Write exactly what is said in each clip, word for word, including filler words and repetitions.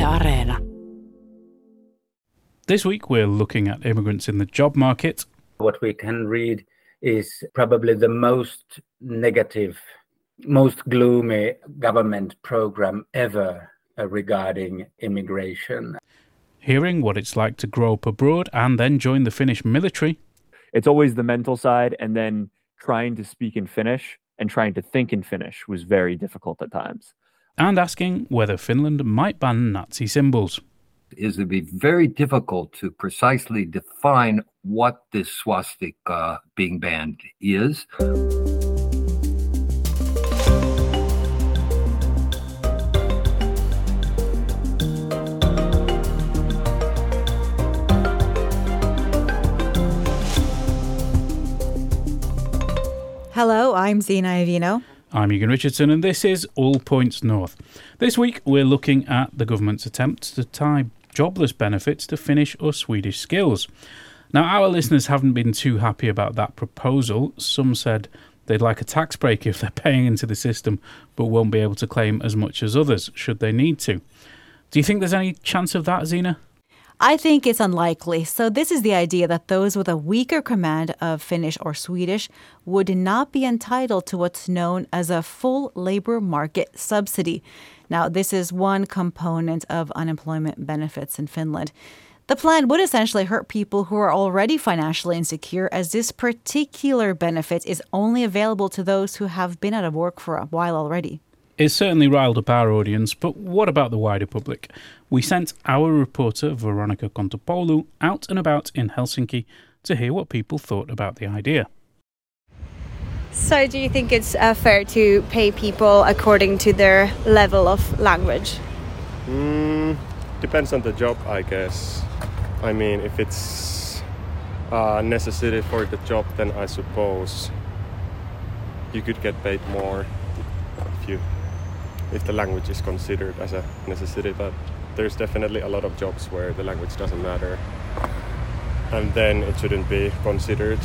Areena. This week we're looking at immigrants in the job market. What we can read is probably the most negative, most gloomy government program ever uh, regarding immigration. Hearing what it's like to grow up abroad and then join the Finnish military. It's always the mental side, and then trying to speak in Finnish and trying to think in Finnish was very difficult at times. And asking whether Finland might ban Nazi symbols. Is it be very difficult to precisely define what this swastika being banned is. Hello, I'm Zena Iovino. I'm Egan Richardson, and this is All Points North. This week, we're looking at the government's attempts to tie jobless benefits to Finnish or Swedish skills. Now, our listeners haven't been too happy about that proposal. Some said they'd like a tax break if they're paying into the system, but won't be able to claim as much as others, should they need to. Do you think there's any chance of that, Zena? I think it's unlikely. So this is the idea that those with a weaker command of Finnish or Swedish would not be entitled to what's known as a full labor market subsidy. Now, this is one component of unemployment benefits in Finland. The plan would essentially hurt people who are already financially insecure, as this particular benefit is only available to those who have been out of work for a while already. It's certainly riled up our audience, but what about the wider public? We sent our reporter Veronica Kontopoulou out and about in Helsinki to hear what people thought about the idea. So do you think it's uh, fair to pay people according to their level of language? Mm, depends on the job, I guess. I mean, if it's a necessity for the job, then I suppose you could get paid more if you if the language is considered as a necessity. But there's definitely a lot of jobs where the language doesn't matter, and then it shouldn't be considered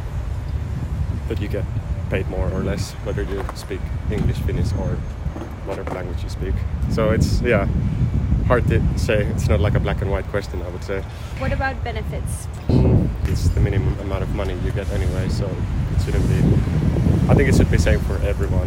that you get paid more or less whether you speak English, Finnish or whatever language you speak. So it's yeah hard to say. It's not like a black and white question, I would say. What about benefits? It's the minimum amount of money you get anyway, so it shouldn't be. I think it should be same for everyone,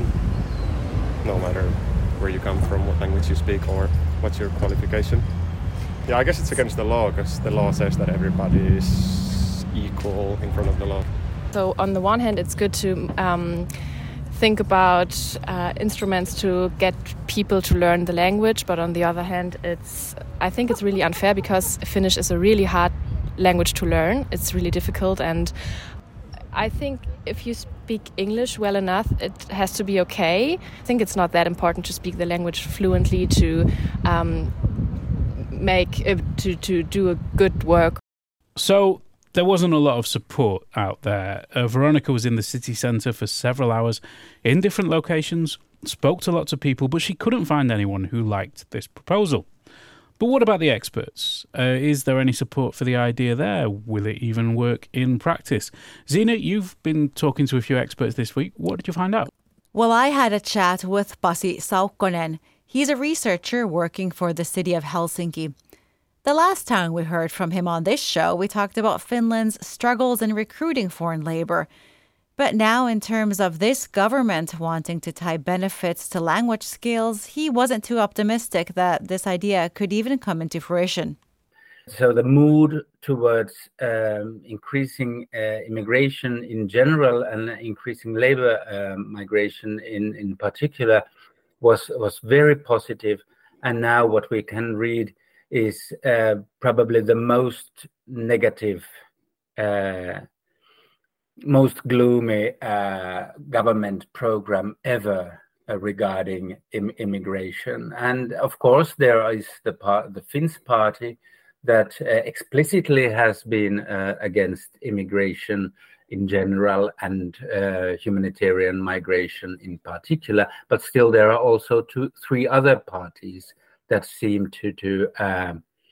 no matter where you come from, what language you speak, or what's your qualification. Yeah, I guess it's against the law, because the law says that everybody is equal in front of the law. So on the one hand, it's good to um, think about uh, instruments to get people to learn the language, but on the other hand, it's I think it's really unfair, because Finnish is a really hard language to learn. It's really difficult, and I think if you speak English well enough, it has to be okay. I think it's not that important to speak the language fluently to um, make uh, to to do a good work. So there wasn't a lot of support out there. Uh, Veronica was in the city centre for several hours in different locations, spoke to lots of people, but she couldn't find anyone who liked this proposal. But what about the experts? Uh, is there any support for the idea there? Will it even work in practice? Zena, you've been talking to a few experts this week. What did you find out? Well, I had a chat with Pasi Saukkonen. He's a researcher working for the city of Helsinki. The last time we heard from him on this show, we talked about Finland's struggles in recruiting foreign labor. But now, in terms of this government wanting to tie benefits to language skills, he wasn't too optimistic that this idea could even come into fruition. So the mood towards um, increasing uh, immigration in general and increasing labor uh, migration in, in particular was, was very positive. And now what we can read is uh, probably the most negative uh most gloomy uh, government program ever uh, regarding Im- immigration. And of course, there is the par- the Finns party that uh, explicitly has been uh, against immigration in general and uh, humanitarian migration in particular. But still, there are also two, three other parties that seem to to uh,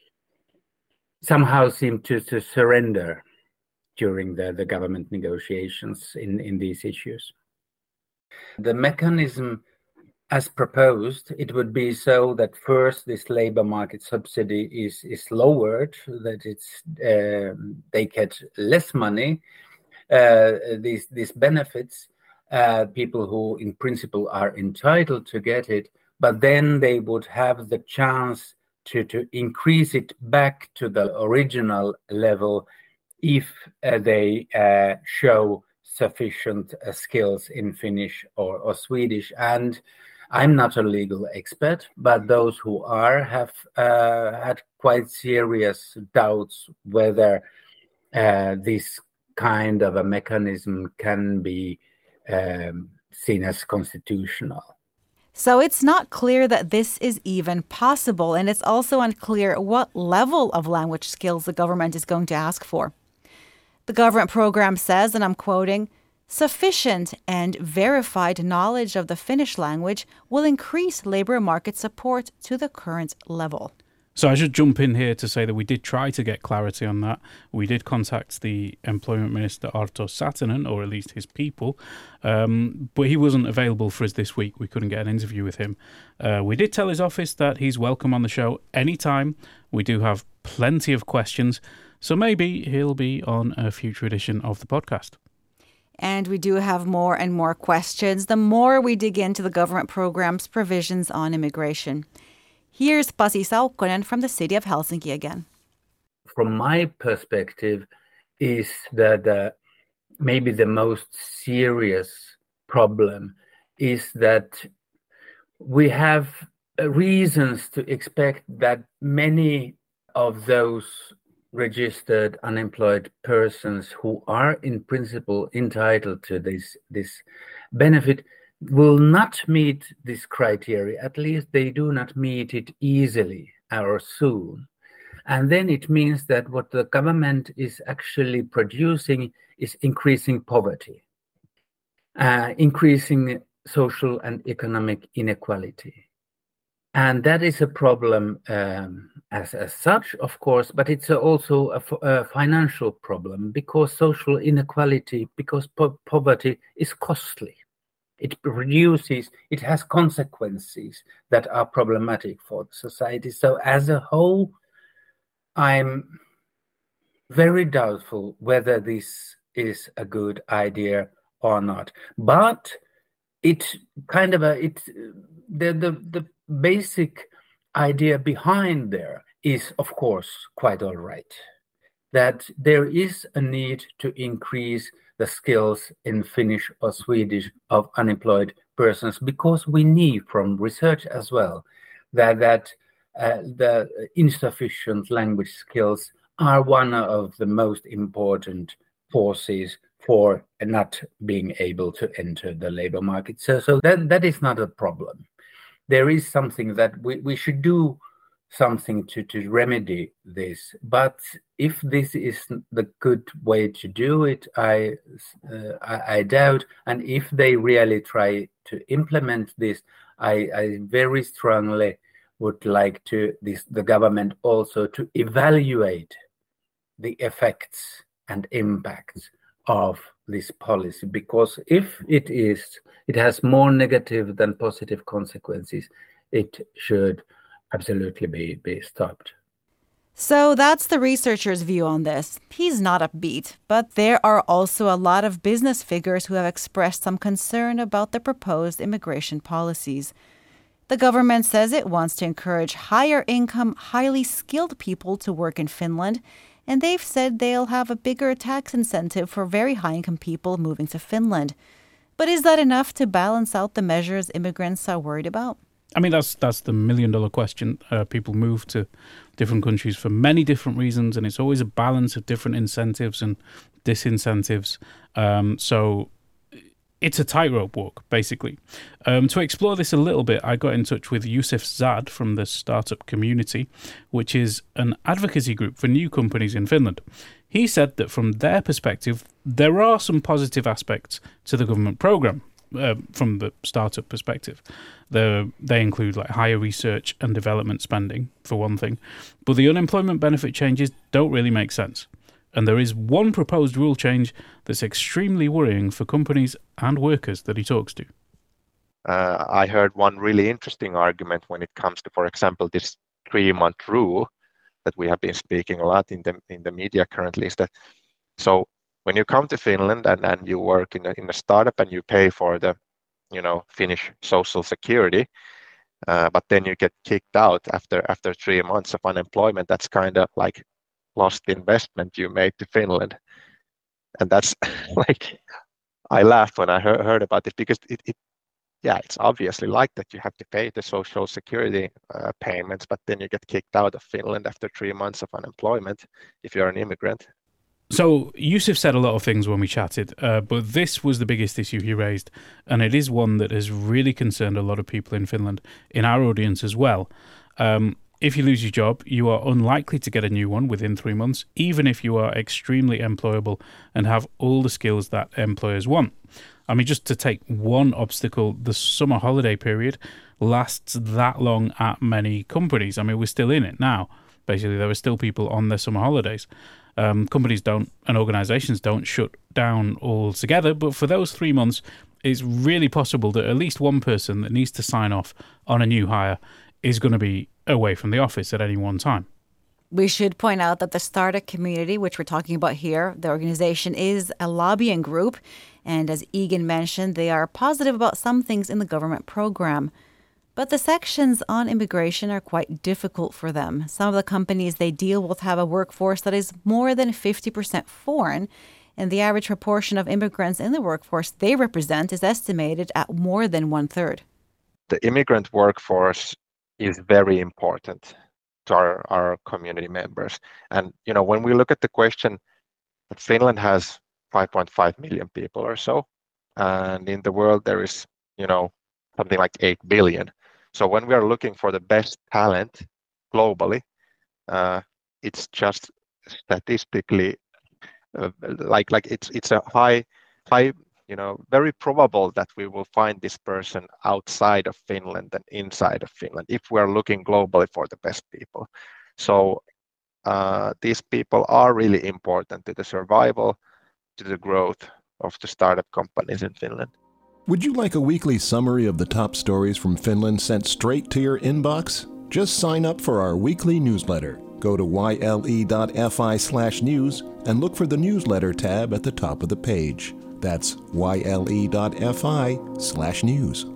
somehow seem to to surrender during the, the government negotiations in, in these issues. The mechanism as proposed, it would be so that first this labor market subsidy is is lowered, that it's uh, they get less money, uh, these these benefits, uh, people who in principle are entitled to get it, but then they would have the chance to to increase it back to the original level if uh, they uh, show sufficient uh, skills in Finnish or, or Swedish. And I'm not a legal expert, but those who are have uh, had quite serious doubts whether uh, this kind of a mechanism can be um, seen as constitutional. So it's not clear that this is even possible, and it's also unclear what level of language skills the government is going to ask for. The government program says, and I'm quoting, "Sufficient and verified knowledge of the Finnish language will increase labour market support to the current level." So I should jump in here to say that we did try to get clarity on that. We did contact the Employment Minister Arto Satonen, or at least his people, um, but he wasn't available for us this week. We couldn't get an interview with him. Uh, we did tell his office that he's welcome on the show anytime. We do have plenty of questions, so maybe he'll be on a future edition of the podcast. And we do have more and more questions the more we dig into the government program's provisions on immigration. Here's Pasi Saukkonen from the city of Helsinki again. From my perspective, is that the, maybe the most serious problem is that we have reasons to expect that many of those registered unemployed persons who are in principle entitled to this, this benefit will not meet this criteria. At least they do not meet it easily or soon. And then it means that what the government is actually producing is increasing poverty, uh, increasing social and economic inequality. And that is a problem um, as, as such, of course, but it's also a, a financial problem because social inequality, because po- poverty is costly. It produces, it has consequences that are problematic for society. So as a whole, I'm very doubtful whether this is a good idea or not. But it kind of a, it, the, the, the basic idea behind there is, of course, quite all right. That there is a need to increase the skills in Finnish or Swedish of unemployed persons, because we need from research as well that that uh, the insufficient language skills are one of the most important forces for not being able to enter the labor market. So, so that that is not a problem. There is something that we, we should do something to, to remedy this. But if this is the good way to do it, I, uh, I, I doubt. And if they really try to implement this, I, I very strongly would like to this the government also to evaluate the effects and impacts of this policy, because if it is, it has more negative than positive consequences, it should absolutely be, be stopped. So that's the researcher's view on this. He's not upbeat, but there are also a lot of business figures who have expressed some concern about the proposed immigration policies. The government says it wants to encourage higher income, highly skilled people to work in Finland, and they've said they'll have a bigger tax incentive for very high income people moving to Finland. But is that enough to balance out the measures immigrants are worried about? I mean, that's that's the million dollar question. Uh, people move to different countries for many different reasons, and it's always a balance of different incentives and disincentives. Um, so it's a tightrope walk, basically. Um, to explore this a little bit, I got in touch with Yusuf Zad from the Startup Community, which is an advocacy group for new companies in Finland. He said that from their perspective, there are some positive aspects to the government programme. Uh, from the startup perspective, the, they include like higher research and development spending, for one thing, but the unemployment benefit changes don't really make sense. And there is one proposed rule change that's extremely worrying for companies and workers that he talks to. Uh, I heard one really interesting argument when it comes to, for example, this three-month rule that we have been speaking a lot in the in the media currently, is that so when you come to Finland and, and you work in a, in a startup and you pay for the, you know, Finnish social security, uh, but then you get kicked out after after three months of unemployment, that's kind of like lost investment you made to Finland. And that's like, I laughed when I heard, heard about it, because it, it yeah, it's obviously like that you have to pay the social security uh, payments, but then you get kicked out of Finland after three months of unemployment if you're an immigrant. So Yusuf said a lot of things when we chatted, uh, but this was the biggest issue he raised, and it is one that has really concerned a lot of people in Finland, in our audience as well. Um, if you lose your job, you are unlikely to get a new one within three months, even if you are extremely employable and have all the skills that employers want. I mean, just to take one obstacle, the summer holiday period lasts that long at many companies. I mean, we're still in it now. Basically, there are still people on their summer holidays. Um, companies don't, and organizations don't shut down altogether, but for those three months, it's really possible that at least one person that needs to sign off on a new hire is going to be away from the office at any one time. We should point out that the Startup community, which we're talking about here, the organization is a lobbying group. And as Egan mentioned, they are positive about some things in the government program. But the sections on immigration are quite difficult for them. Some of the companies they deal with have a workforce that is more than fifty percent foreign. And the average proportion of immigrants in the workforce they represent is estimated at more than one third. The immigrant workforce is very important to our, our community members. And, you know, when we look at the question that Finland has five point five million people or so, and in the world there is, you know, something like eight billion. So when we are looking for the best talent globally, uh, it's just statistically uh, like like it's it's a high high you know very probable that we will find this person outside of Finland than inside of Finland if we are looking globally for the best people. So uh, these people are really important to the survival, to the growth of the startup companies in Finland. Would you like a weekly summary of the top stories from Finland sent straight to your inbox? Just sign up for our weekly newsletter. Go to yle.fi slash news and look for the newsletter tab at the top of the page. That's yle.fi slash news.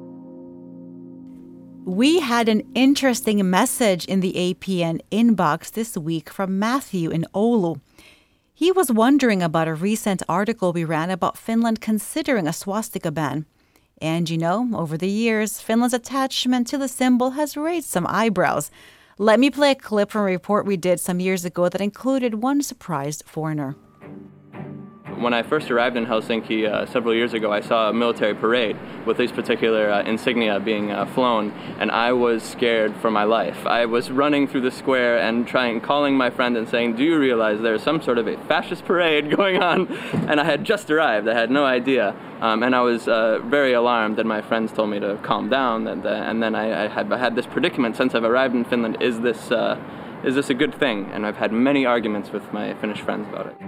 We had an interesting message in the A P N inbox this week from Matthew in Oulu. He was wondering about a recent article we ran about Finland considering a swastika ban. And you know, over the years, Finland's attachment to the symbol has raised some eyebrows. Let me play a clip from a report we did some years ago that included one surprised foreigner. When I first arrived in Helsinki uh, several years ago, I saw a military parade with these particular uh, insignia being uh, flown, and I was scared for my life. I was running through the square and trying, calling my friend and saying, "Do you realize there's some sort of a fascist parade going on?" And I had just arrived. I had no idea. Um, and I was uh, very alarmed, and my friends told me to calm down. And, uh, and then I, I had I had this predicament since I've arrived in Finland. Is this, uh, is this a good thing? And I've had many arguments with my Finnish friends about it.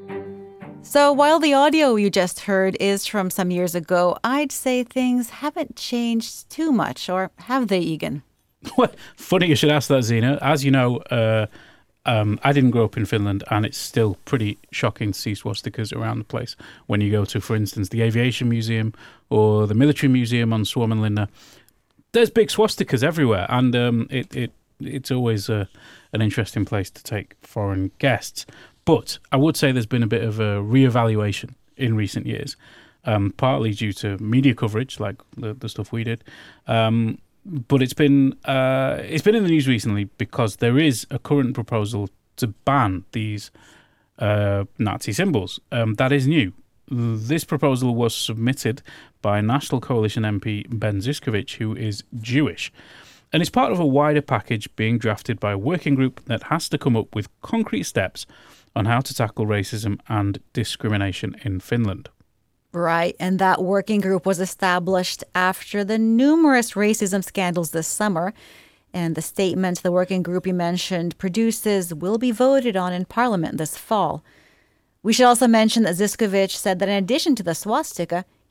So while the audio you just heard is from some years ago, I'd say things haven't changed too much, or have they, Egan? Well, funny you should ask that, Zena. As you know, uh, um, I didn't grow up in Finland, and it's still pretty shocking to see swastikas around the place. When you go to, for instance, the Aviation Museum or the Military Museum on Suomenlinna, there's big swastikas everywhere, and um, it, it it's always uh, an interesting place to take foreign guests. But I would say there's been a bit of a reevaluation in recent years, um, partly due to media coverage, like the, the stuff we did. Um, but it's been uh, it's been in the news recently because there is a current proposal to ban these uh, Nazi symbols. Um, that is new. This proposal was submitted by National Coalition M P Ben Zyskowicz, who is Jewish. And it's part of a wider package being drafted by a working group that has to come up with concrete steps on how to tackle racism and discrimination in Finland. Right, and that working group was established after the numerous racism scandals this summer. And the statement the working group you mentioned produces will be voted on in Parliament this fall. We should also mention that Zyskowicz said that in addition to the swastika,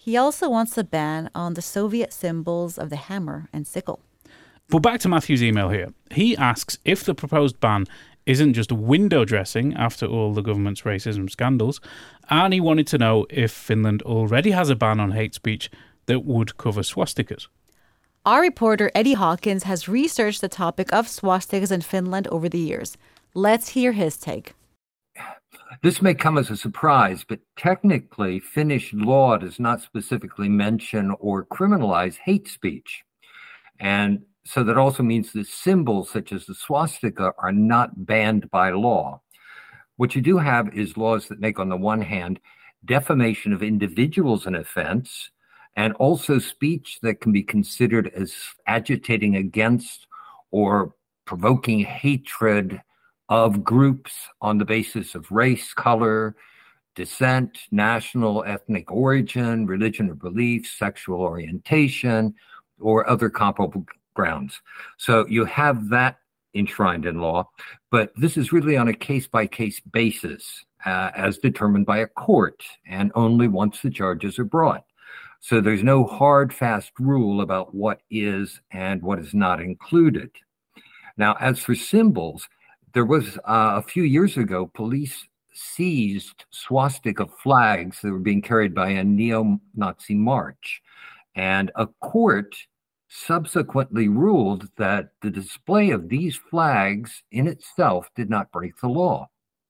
He also wants a ban on the Soviet symbols of the hammer and sickle. But back to Matthew's email here. He asks if the proposed ban isn't just window dressing after all the government's racism scandals, and he wanted to know if Finland already has a ban on hate speech that would cover swastikas. Our reporter Eddie Hawkins has researched the topic of swastikas in Finland over the years. Let's hear his take. This may come as a surprise, but technically, Finnish law does not specifically mention or criminalize hate speech. And so that also means that symbols such as the swastika are not banned by law. What you do have is laws that make, on the one hand, defamation of individuals an offense, and also speech that can be considered as agitating against or provoking hatred of groups on the basis of race, color, descent, national, ethnic origin, religion or belief, sexual orientation, or other comparable grounds. So you have that enshrined in law, but this is really on a case-by-case basis uh, as determined by a court, and only once the charges are brought. So there's no hard, fast rule about what is and what is not included. Now, as for symbols, there was uh, a few years ago, police seized swastika flags that were being carried by a neo-Nazi march, and a court subsequently ruled that the display of these flags in itself did not break the law.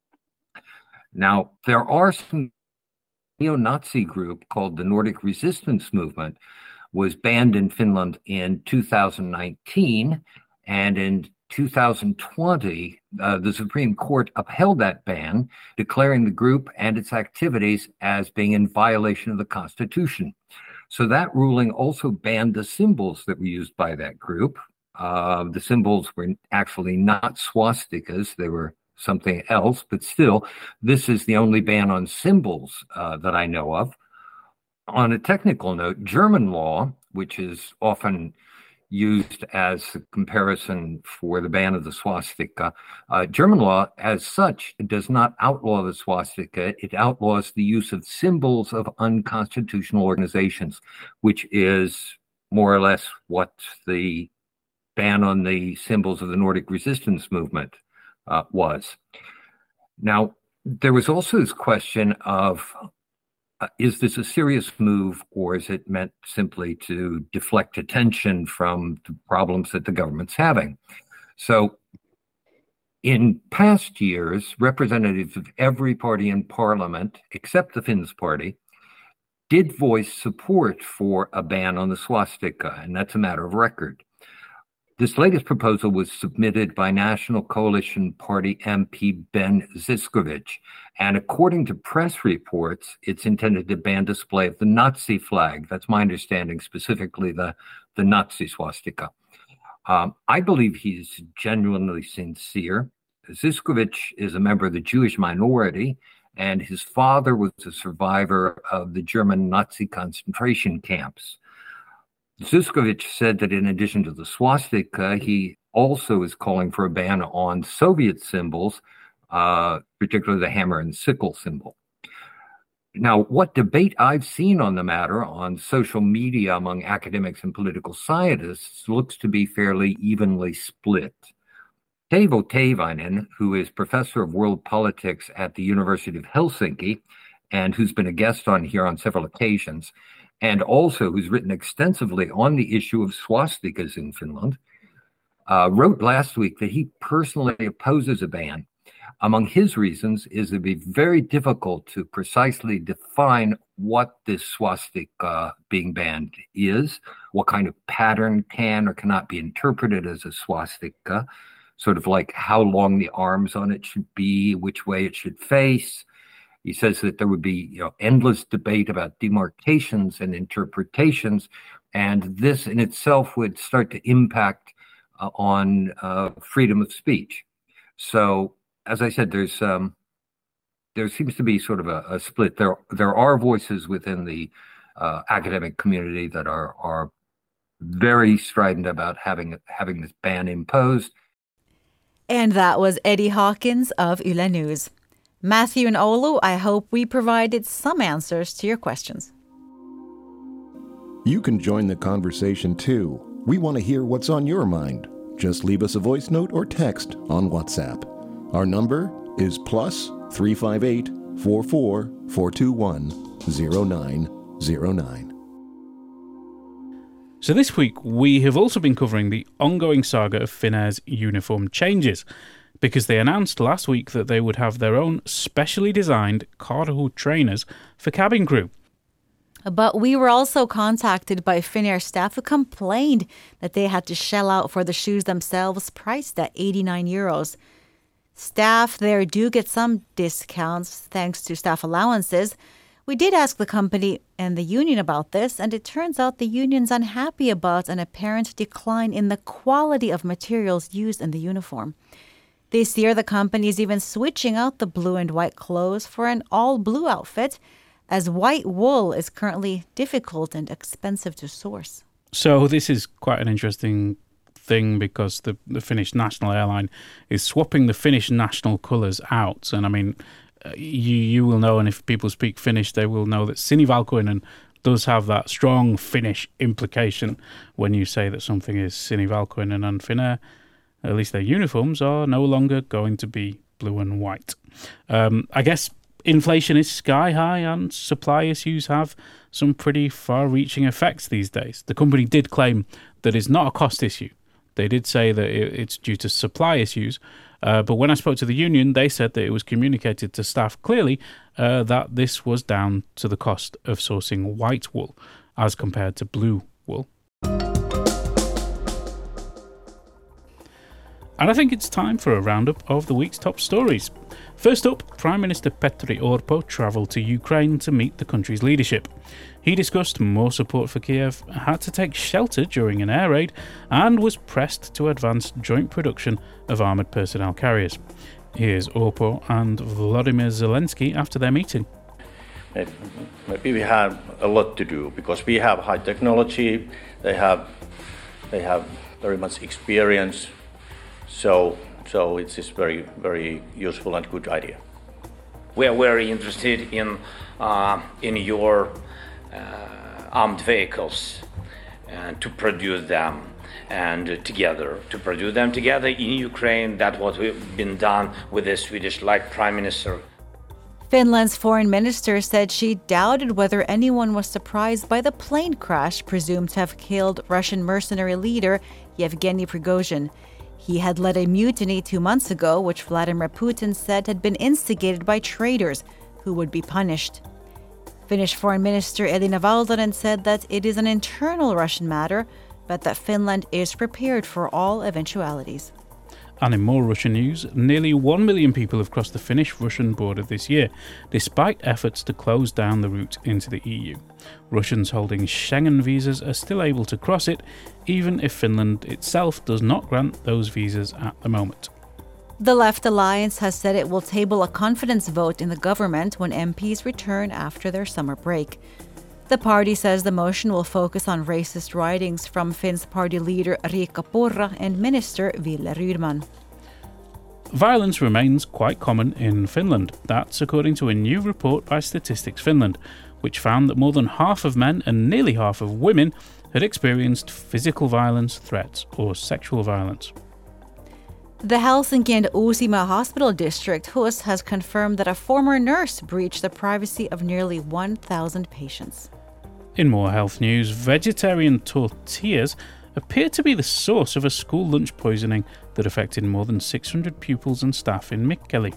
Now, there are some neo-Nazi group called the Nordic Resistance Movement was banned in Finland in two thousand nineteen, and in two thousand twenty, uh, the Supreme Court upheld that ban, declaring the group and its activities as being in violation of the Constitution. So that ruling also banned the symbols that were used by that group. Uh, the symbols were actually not swastikas. They were something else, but still, this is the only ban on symbols uh, that I know of. On a technical note, German law, which is often used as a comparison for the ban of the swastika, uh, German law as such does not outlaw the swastika. It outlaws the use of symbols of unconstitutional organizations, which is more or less what the ban on the symbols of the Nordic Resistance Movement uh, was. Now, there was also this question of Uh, is this a serious move, or is it meant simply to deflect attention from the problems that the government's having? So in past years, representatives of every party in parliament, except the Finns party, did voice support for a ban on the swastika, and that's a matter of record. This latest proposal was submitted by National Coalition Party M P Ben Zyskowicz, and according to press reports, it's intended to ban display of the Nazi flag. That's my understanding, specifically the, the Nazi swastika. Um, I believe he's genuinely sincere. Zyskowicz is a member of the Jewish minority, and his father was a survivor of the German Nazi concentration camps. Zyskowicz said that in addition to the swastika, he also is calling for a ban on Soviet symbols, uh, particularly the hammer and sickle symbol. Now, what debate I've seen on the matter on social media among academics and political scientists looks to be fairly evenly split. Teivo Teivainen, who is professor of world politics at the University of Helsinki, and who's been a guest on here on several occasions, and also who's written extensively on the issue of swastikas in Finland, uh, wrote last week that he personally opposes a ban. Among his reasons is it would be very difficult to precisely define what this swastika being banned is, what kind of pattern can or cannot be interpreted as a swastika, sort of like how long the arms on it should be, which way it should face. He says that there would be, you know, endless debate about demarcations and interpretations, and this in itself would start to impact uh, on uh, freedom of speech. So, as I said, there's um, there seems to be sort of a, a split. There there are voices within the uh, academic community that are are very strident about having having this ban imposed. And that was Eddie Hawkins of Yle News. Matthew and Olu, I hope we provided some answers to your questions. You can join the conversation too. We want to hear what's on your mind. Just leave us a voice note or text on WhatsApp. Our number is plus three five eight, four four, four two one, zero nine zero nine. So this week we have also been covering the ongoing saga of Finnair's uniform changes, because they announced last week that they would have their own specially designed Karhu trainers for cabin crew. But we were also contacted by Finnair staff who complained that they had to shell out for the shoes themselves, priced at eighty-nine euros. Staff there do get some discounts thanks to staff allowances. We did ask the company and the union about this, and it turns out the union's unhappy about an apparent decline in the quality of materials used in the uniform. This year, the company is even switching out the blue and white clothes for an all-blue outfit, as white wool is currently difficult and expensive to source. So this is quite an interesting thing, because the, the Finnish national airline is swapping the Finnish national colours out. And I mean, you you will know, and if people speak Finnish, they will know that sinivalkoinen does have that strong Finnish implication when you say that something is sinivalkoinen. And Finnair, at least their uniforms, are no longer going to be blue and white. Um, I guess inflation is sky high and supply issues have some pretty far-reaching effects these days. The company did claim that it's not a cost issue. They did say that it's due to supply issues. Uh, but when I spoke to the union, they said that it was communicated to staff clearly uh, that this was down to the cost of sourcing white wool as compared to blue wool. And I think it's time for a roundup of the week's top stories. First up, Prime Minister Petteri Orpo travelled to Ukraine to meet the country's leadership. He discussed more support for Kiev, had to take shelter during an air raid, and was pressed to advance joint production of armoured personnel carriers. Here's Orpo and Volodymyr Zelensky after their meeting. Maybe we have a lot to do, because we have high technology, they have, they have very much experience. So, so it's this very, very useful and good idea. We are very interested in uh, in your uh, armed vehicles and to produce them and together to produce them together in Ukraine. That's what we've been done with the Swedish like Prime Minister. Finland's foreign minister said she doubted whether anyone was surprised by the plane crash presumed to have killed Russian mercenary leader Yevgeny Prigozhin. He had led a mutiny two months ago, which Vladimir Putin said had been instigated by traitors who would be punished. Finnish Foreign Minister Elina Valtonen said that it is an internal Russian matter, but that Finland is prepared for all eventualities. And in more Russian news, nearly one million people have crossed the Finnish-Russian border this year, despite efforts to close down the route into the E U. Russians holding Schengen visas are still able to cross it, even if Finland itself does not grant those visas at the moment. The Left Alliance has said it will table a confidence vote in the government when M Ps return after their summer break. The party says the motion will focus on racist writings from Finn's party leader Riikka Purra and Minister Ville Rydman. Violence remains quite common in Finland. That's according to a new report by Statistics Finland, which found that more than half of men and nearly half of women had experienced physical violence, threats, or sexual violence. The Helsinki and Uusimaa Hospital District, H U S, has confirmed that a former nurse breached the privacy of nearly one thousand patients. In more health news, vegetarian tortillas appear to be the source of a school lunch poisoning that affected more than six hundred pupils and staff in Mikkeli.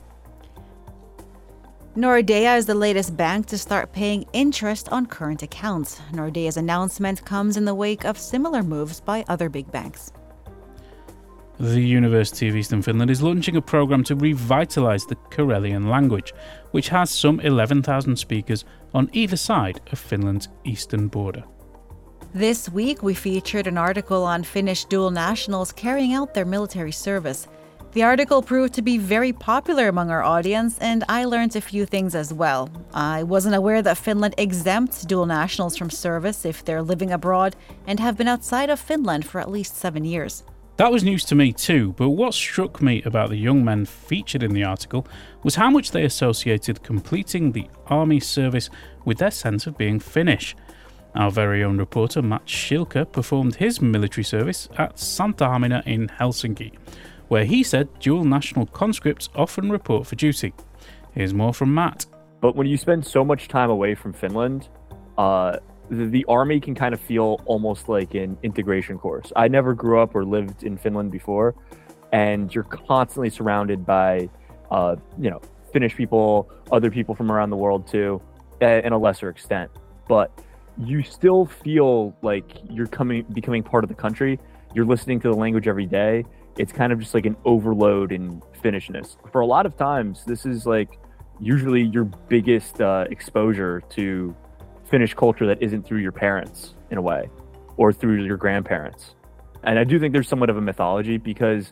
Nordea is the latest bank to start paying interest on current accounts. Nordea's announcement comes in the wake of similar moves by other big banks. The University of Eastern Finland is launching a program to revitalise the Karelian language, which has some eleven thousand speakers on either side of Finland's eastern border. This week, we featured an article on Finnish dual nationals carrying out their military service. The article proved to be very popular among our audience, and I learned a few things as well. I wasn't aware that Finland exempts dual nationals from service if they're living abroad and have been outside of Finland for at least seven years. That was news to me too, but what struck me about the young men featured in the article was how much they associated completing the army service with their sense of being Finnish. Our very own reporter Matt Schilke performed his military service at Santa Hamina in Helsinki, where he said dual national conscripts often report for duty. Here's more from Matt. But when you spend so much time away from Finland, uh, the, the army can kind of feel almost like an integration course. I never grew up or lived in Finland before, and you're constantly surrounded by, uh, you know, Finnish people, other people from around the world too, in a lesser extent. But you still feel like you're coming, becoming part of the country. You're listening to the language every day. It's kind of just like an overload in Finnishness. For a lot of times, this is like usually your biggest uh, exposure to Finnish culture that isn't through your parents in a way, or through your grandparents. And I do think there's somewhat of a mythology, because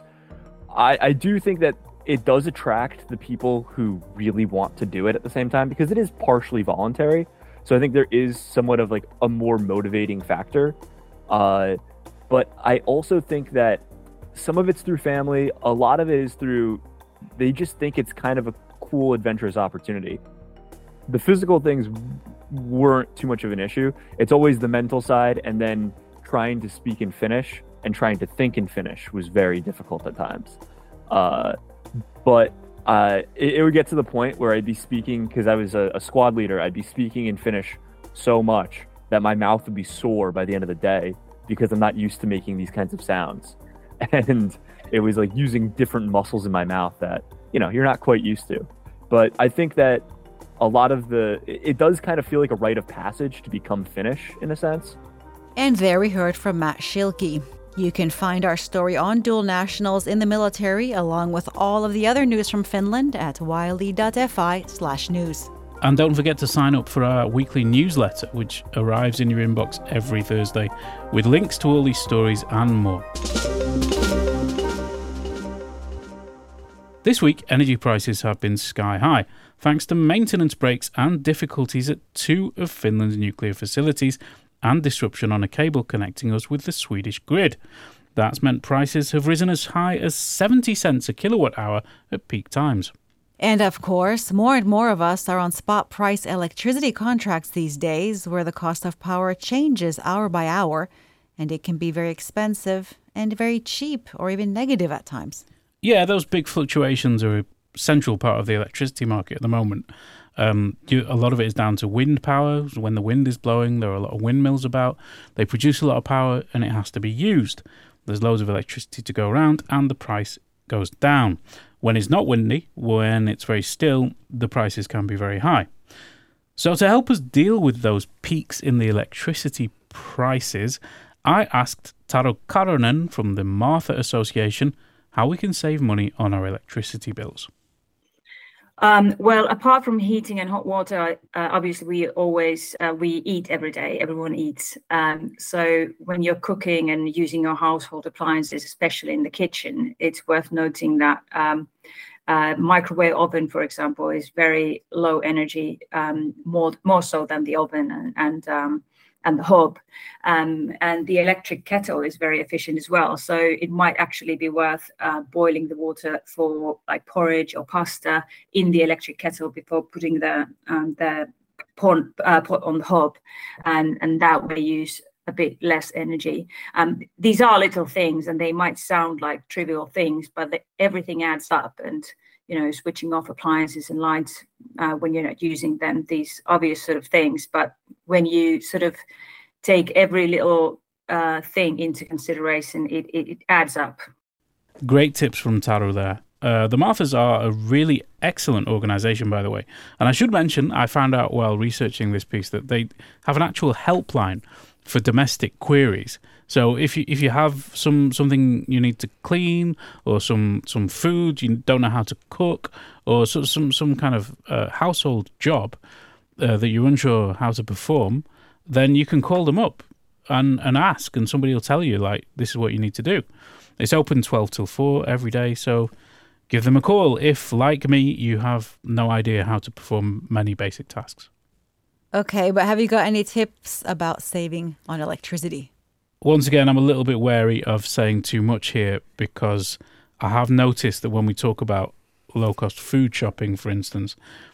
I, I do think that it does attract the people who really want to do it at the same time, because it is partially voluntary. So I think there is somewhat of like a more motivating factor. Uh, but I also think that some of it's through family. A lot of it is through, they just think it's kind of a cool, adventurous opportunity. The physical things weren't too much of an issue. It's always the mental side, and then trying to speak in Finnish and trying to think in Finnish was very difficult at times. Uh, but uh, it, it would get to the point where I'd be speaking, because I was a, a squad leader, I'd be speaking in Finnish so much that my mouth would be sore by the end of the day, because I'm not used to making these kinds of sounds. And it was like using different muscles in my mouth that, you know, you're not quite used to. But I think that a lot of the, it does kind of feel like a rite of passage to become Finnish in a sense. And there we heard from Matt Schilke. You can find our story on dual nationals in the military, along with all of the other news from Finland, at yle.fi slash news. And don't forget to sign up for our weekly newsletter, which arrives in your inbox every Thursday, with links to all these stories and more. This week, energy prices have been sky high, thanks to maintenance breaks and difficulties at two of Finland's nuclear facilities, and disruption on a cable connecting us with the Swedish grid. That's meant prices have risen as high as seventy cents a kilowatt hour at peak times. And of course, more and more of us are on spot price electricity contracts these days, where the cost of power changes hour by hour, and it can be very expensive and very cheap, or even negative at times. Yeah, those big fluctuations are a central part of the electricity market at the moment. Um, you, a lot of it is down to wind power. When the wind is blowing, there are a lot of windmills about. They produce a lot of power, and it has to be used. There's loads of electricity to go around, and the price goes down. When it's not windy, when it's very still, the prices can be very high. So to help us deal with those peaks in the electricity prices, I asked Taru Karonen from the Martha Association how we can save money on our electricity bills. Um, well, apart from heating and hot water, uh, obviously we always, uh, we eat every day, everyone eats. Um, so when you're cooking and using your household appliances, especially in the kitchen, it's worth noting that um, uh, microwave oven, for example, is very low energy, um, more more so than the oven and, and um, and the hob. Um, and the electric kettle is very efficient as well. So it might actually be worth uh, boiling the water for like porridge or pasta in the electric kettle before putting the um, the pot, uh, pot on the hob, and, and that way use a bit less energy. Um, these are little things, and they might sound like trivial things, but the, everything adds up. And you know, switching off appliances and lights uh, when you're not using them, these obvious sort of things. But when you sort of take every little uh, thing into consideration, it, it, it adds up. Great tips from Taru there. Uh, the Marthas are a really excellent organisation, by the way. And I should mention, I found out while researching this piece that they have an actual helpline for domestic queries. So if you if you have some something you need to clean, or some some food you don't know how to cook, or so, some some kind of uh, household job uh, that you're unsure how to perform, then you can call them up and, and ask, and somebody will tell you, like, this is what you need to do. It's open twelve till four every day, so give them a call if, like me, you have no idea how to perform many basic tasks. Okay, but have you got any tips about saving on electricity? Once again, I'm a little bit wary of saying too much here, because I have noticed that when we talk about low-cost food shopping, for instance,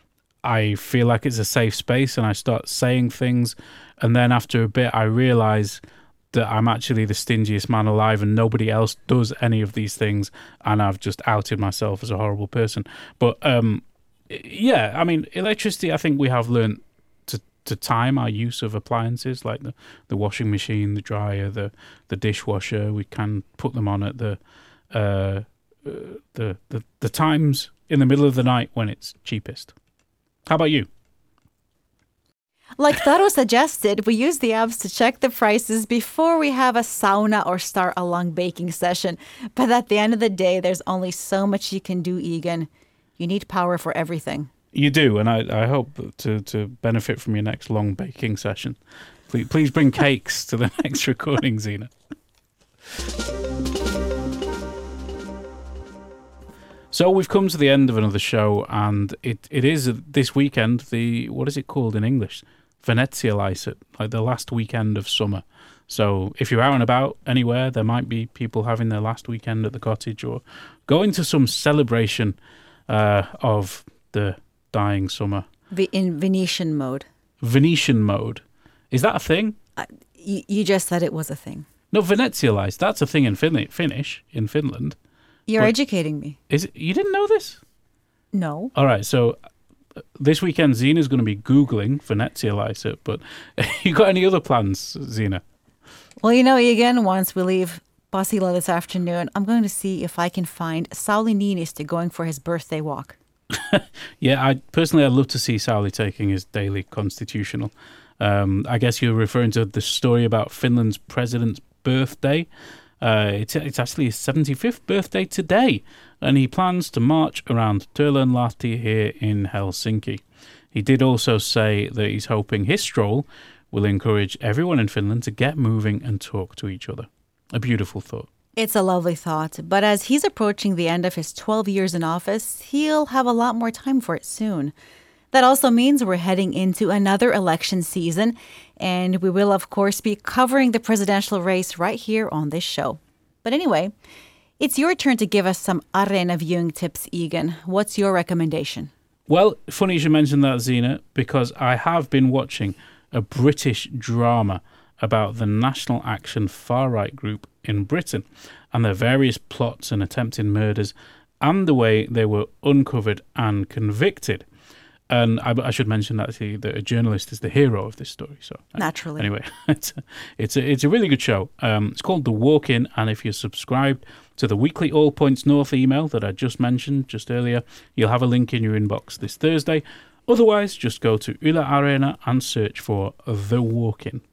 I feel like it's a safe space and I start saying things. And then after a bit, I realize that I'm actually the stingiest man alive and nobody else does any of these things. And I've just outed myself as a horrible person. But um, yeah, I mean, electricity, I think we have learned to, to time our use of appliances like the, the washing machine, the dryer, the, the dishwasher. We can put them on at the, uh, uh, the, the, the times in the middle of the night when it's cheapest. How about you? Like Taro suggested, we use the apps to check the prices before we have a sauna or start a long baking session. But at the end of the day, there's only so much you can do, Egan. You need power for everything. You do, and I, I hope to, to benefit from your next long baking session. Please, please bring cakes to the next recording, Zena. So we've come to the end of another show, and it, it is this weekend, the, what is it called in English? Venezia Licet, like the last weekend of summer. So if you're out and about anywhere, there might be people having their last weekend at the cottage or going to some celebration uh, of the dying summer. In Venetian mode. Venetian mode. Is that a thing? Uh, you, you just said it was a thing. No, Venezia Licet, that's a thing in fin- Finnish, in Finland. You're but educating me. Is it, you didn't know this? No. All right, so this weekend, Zena's going to be Googling Venezia Licet, but you got any other plans, Zena? Well, you know, again, once we leave Pasila this afternoon, I'm going to see if I can find Sauli Niinistö going for his birthday walk. Yeah, I personally, I'd love to see Sauli taking his daily constitutional. Um, I guess you're referring to the story about Finland's president's birthday. Uh, it's, it's actually his seventy-fifth birthday today, and he plans to march around Töölönlahti here in Helsinki. He did also say that he's hoping his stroll will encourage everyone in Finland to get moving and talk to each other. A beautiful thought. It's a lovely thought, but as he's approaching the end of his twelve years in office, he'll have a lot more time for it soon. That also means we're heading into another election season, and we will, of course, be covering the presidential race right here on this show. But anyway, it's your turn to give us some Areena viewing tips, Egan. What's your recommendation? Well, funny you should mention that, Zena, because I have been watching a British drama about the National Action far-right group in Britain and their various plots and attempted murders and the way they were uncovered and convicted. And I, I should mention actually that a journalist is the hero of this story. So naturally, anyway, it's a, it's a, it's a really good show. Um, it's called The Walk-In, and if you're subscribed to the weekly All Points North email that I just mentioned just earlier, you'll have a link in your inbox this Thursday. Otherwise, just go to Yle Areena and search for The Walk-In.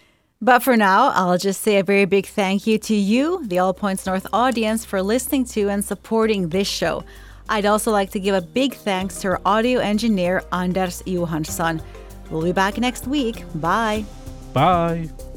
But for now, I'll just say a very big thank you to you, the All Points North audience, for listening to and supporting this show. I'd also like to give a big thanks to our audio engineer, Anders Johansson. We'll be back next week. Bye. Bye.